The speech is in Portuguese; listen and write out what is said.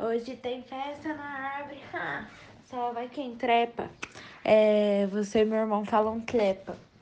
Hoje tem festa na árvore. Só vai quem trepa. Você e meu irmão falam trepa.